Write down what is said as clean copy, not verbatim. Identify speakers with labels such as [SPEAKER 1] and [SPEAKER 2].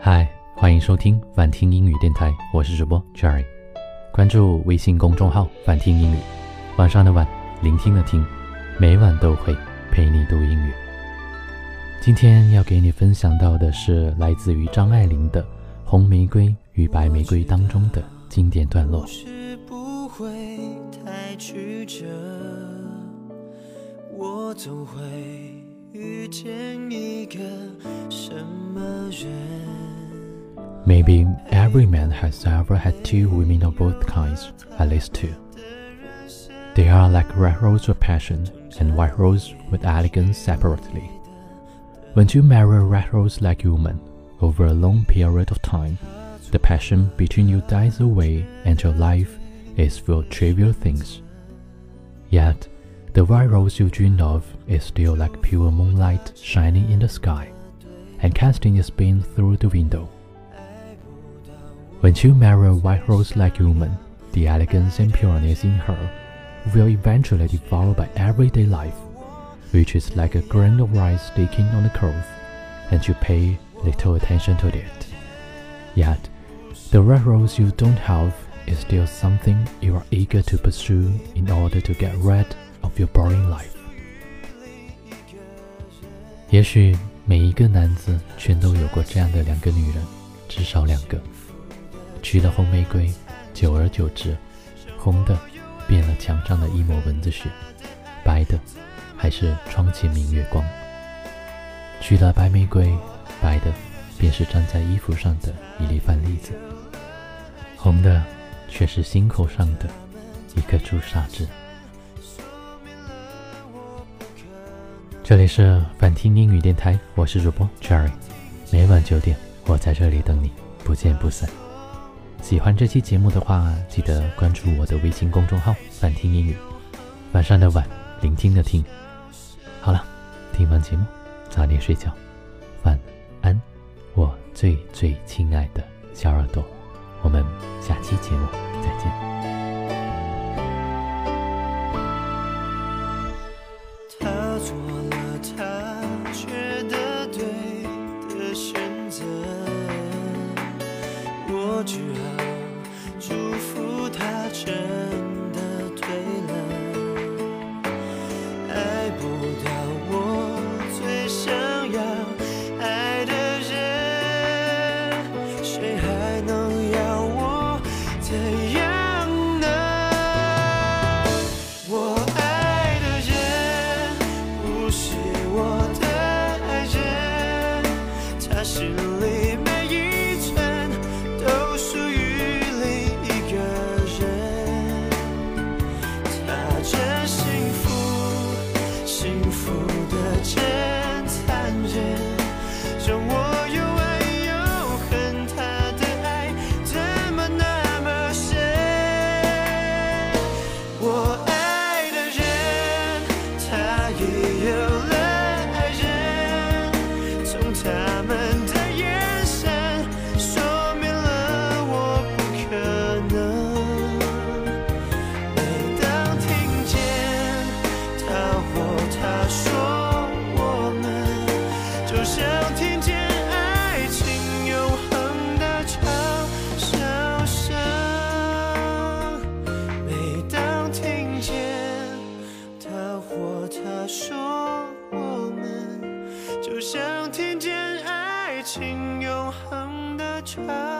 [SPEAKER 1] 嗨，欢迎收听反听英语电台，我是主播 Jerry。关注微信公众号反听英语，晚上的晚，聆听的听，每晚都会陪你读英语。今天要给你分享到的是来自于张爱玲的《红玫瑰与白玫瑰》当中的经典段落。
[SPEAKER 2] 是不会太曲折，我总会遇见一个什么人。
[SPEAKER 1] Maybe every man has ever had two women of both kinds, at least two. They are like red rose with passion and white rose with elegance separately. When you marry a red rose-like woman, over a long period of time, the passion between you dies away and your life is full of trivial things. Yet, the white rose you dream of is still like pure moonlight shining in the sky and casting its beam through the window.When you marry a white rose-like woman, the elegance and pureness in her will eventually be devoured by everyday life, which is like a grain of rice sticking on a cloth, and you pay little attention to it. Yet, the red rose you don't have is still something you are eager to pursue in order to get rid of your boring life. 也许每一个男子全都有过这样的两个女人，至少两个。娶了红玫瑰，久而久之，红的变了墙上的一抹蚊子血，白的还是窗前明月光。娶了白玫瑰，白的便是粘在衣服上的一粒饭粒子，红的却是心口上的一颗朱砂痣。这里是反听英语电台，我是主播 Jerry， 每晚9点，我在这里等你，不见不散。喜欢这期节目的话，记得关注我的微信公众号反听英语，晚上的晚，聆听的听。好了，听完节目早点睡觉，晚安，我最最亲爱的小耳朵，我们下期节目再见。
[SPEAKER 2] 他做了他觉得对的选择，我只好祝福他真的对了。爱不到我最想要爱的人，谁还能要我怎样呢？我爱的人不是我的爱人，他心里每一寸都属于另一个人。他真幸福，幸福的真残忍，让我又爱又恨。他的爱怎么那么深？我爱的人，他也有了爱人，从他们的眼神说明了我不可能。每当听见他或她说我们，就像听见爱情永恒的嘲笑声。每当听见他或她说我们，就像听见爱情永恒的嘲